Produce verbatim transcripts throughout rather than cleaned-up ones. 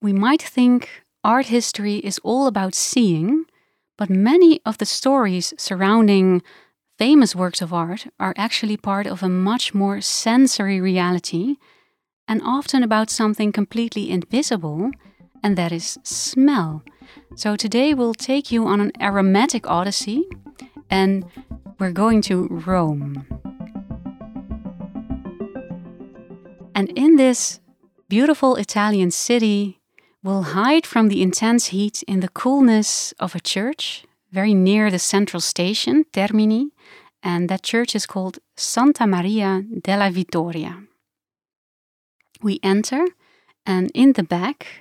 We might think art history is all about seeing, but many of the stories surrounding famous works of art are actually part of a much more sensory reality and often about something completely invisible, and that is smell. So today we'll take you on an aromatic odyssey and we're going to Rome. And in this beautiful Italian city, we'll hide from the intense heat in the coolness of a church very near the central station, Termini, and that church is called Santa Maria della Vittoria. We enter, and in the back,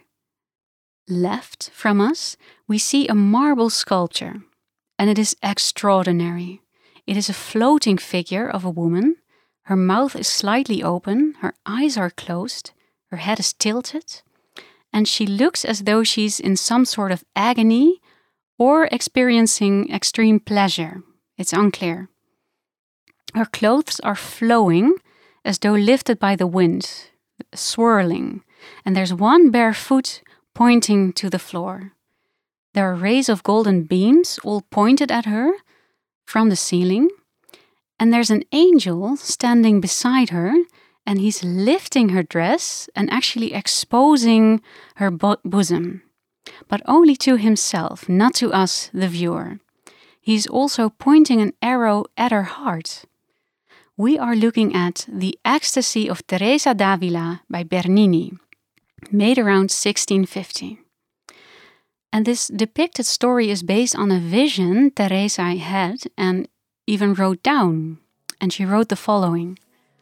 left from us, we see a marble sculpture, and it is extraordinary. It is a floating figure of a woman. Her mouth is slightly open, her eyes are closed, her head is tilted, and she looks as though she's in some sort of agony or experiencing extreme pleasure. It's unclear. Her clothes are flowing as though lifted by the wind, swirling, and there's one bare foot pointing to the floor. There are rays of golden beams all pointed at her from the ceiling, and there's an angel standing beside her, and he's lifting her dress and actually exposing her bo- bosom, but only to himself, not to us, the viewer. He's also pointing an arrow at her heart. We are looking at The Ecstasy of Teresa d'Avila by Bernini, made around sixteen fifty. And this depicted story is based on a vision Teresa had and even wrote down. And she wrote the following: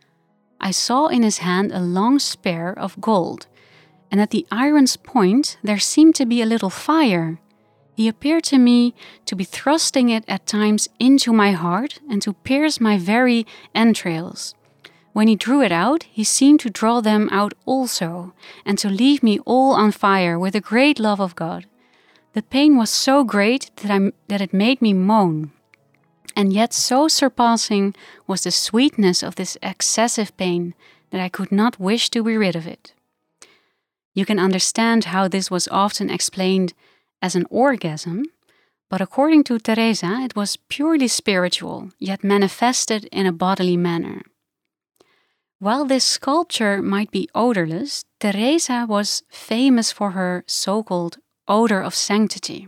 I saw in his hand a long spear of gold, and at the iron's point there seemed to be a little fire. He appeared to me to be thrusting it at times into my heart and to pierce my very entrails. When he drew it out, he seemed to draw them out also, and to leave me all on fire with a great love of God. The pain was so great that, I, that it made me moan. And yet so surpassing was the sweetness of this excessive pain that I could not wish to be rid of it. You can understand how this was often explained as an orgasm, but according to Teresa, it was purely spiritual, yet manifested in a bodily manner. While this sculpture might be odorless, Teresa was famous for her so-called odor of sanctity.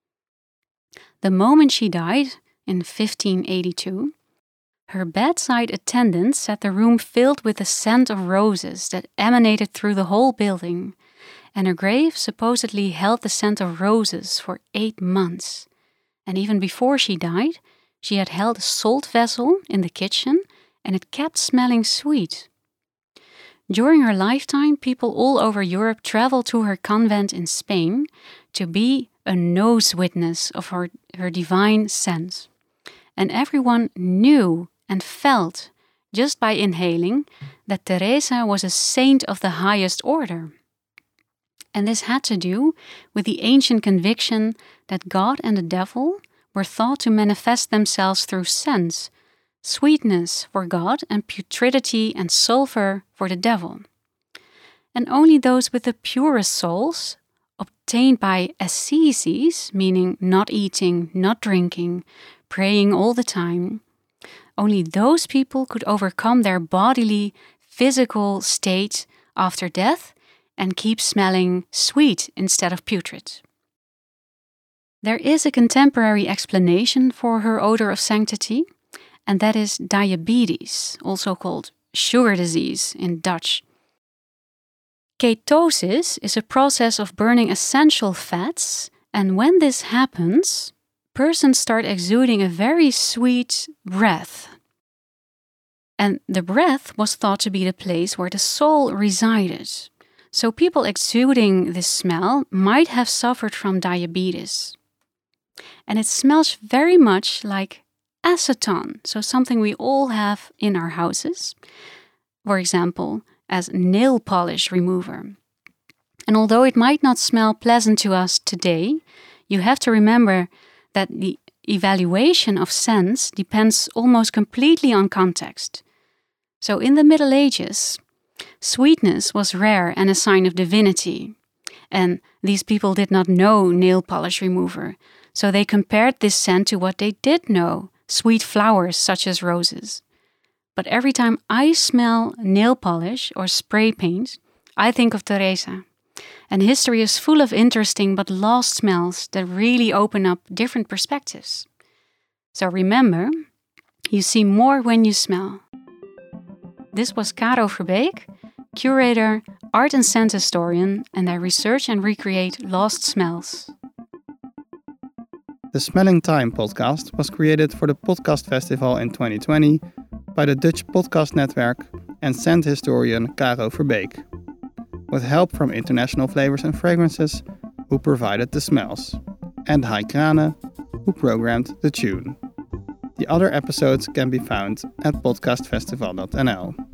The moment she died, in fifteen eighty-two, her bedside attendants said the room filled with the scent of roses that emanated through the whole building, and her grave supposedly held the scent of roses for eight months. And even before she died, she had held a salt vessel in the kitchen, and it kept smelling sweet. During her lifetime, people all over Europe traveled to her convent in Spain to be a nose witness of her, her divine scent. And everyone knew and felt, just by inhaling, that Teresa was a saint of the highest order. And this had to do with the ancient conviction that God and the devil were thought to manifest themselves through sense, sweetness for God and putridity and sulfur for the devil. And only those with the purest souls, obtained by ascesis, meaning not eating, not drinking, praying all the time, only those people could overcome their bodily, physical state after death and keep smelling sweet instead of putrid. There is a contemporary explanation for her odor of sanctity, and that is diabetes, also called sugar disease in Dutch. Ketosis is a process of burning essential fats, and when this happens, persons start exuding a very sweet breath. And the breath was thought to be the place where the soul resided. So people exuding this smell might have suffered from diabetes. And it smells very much like acetone, so something we all have in our houses, for example, as nail polish remover. And although it might not smell pleasant to us today, you have to remember that the evaluation of scents depends almost completely on context. So in the Middle Ages, sweetness was rare and a sign of divinity. And these people did not know nail polish remover, so they compared this scent to what they did know, sweet flowers such as roses. But every time I smell nail polish or spray paint, I think of Teresa. And history is full of interesting but lost smells that really open up different perspectives. So remember, you see more when you smell. This was Caro Verbeek, curator, art and scent historian, and I research and recreate lost smells. The Smelling Time podcast was created for the Podcast Festival in twenty twenty by the Dutch Podcast Network and scent historian Caro Verbeek, with help from International Flavors and Fragrances, who provided the smells, and Hai Krane, who programmed the tune. The other episodes can be found at podcast festival dot n l.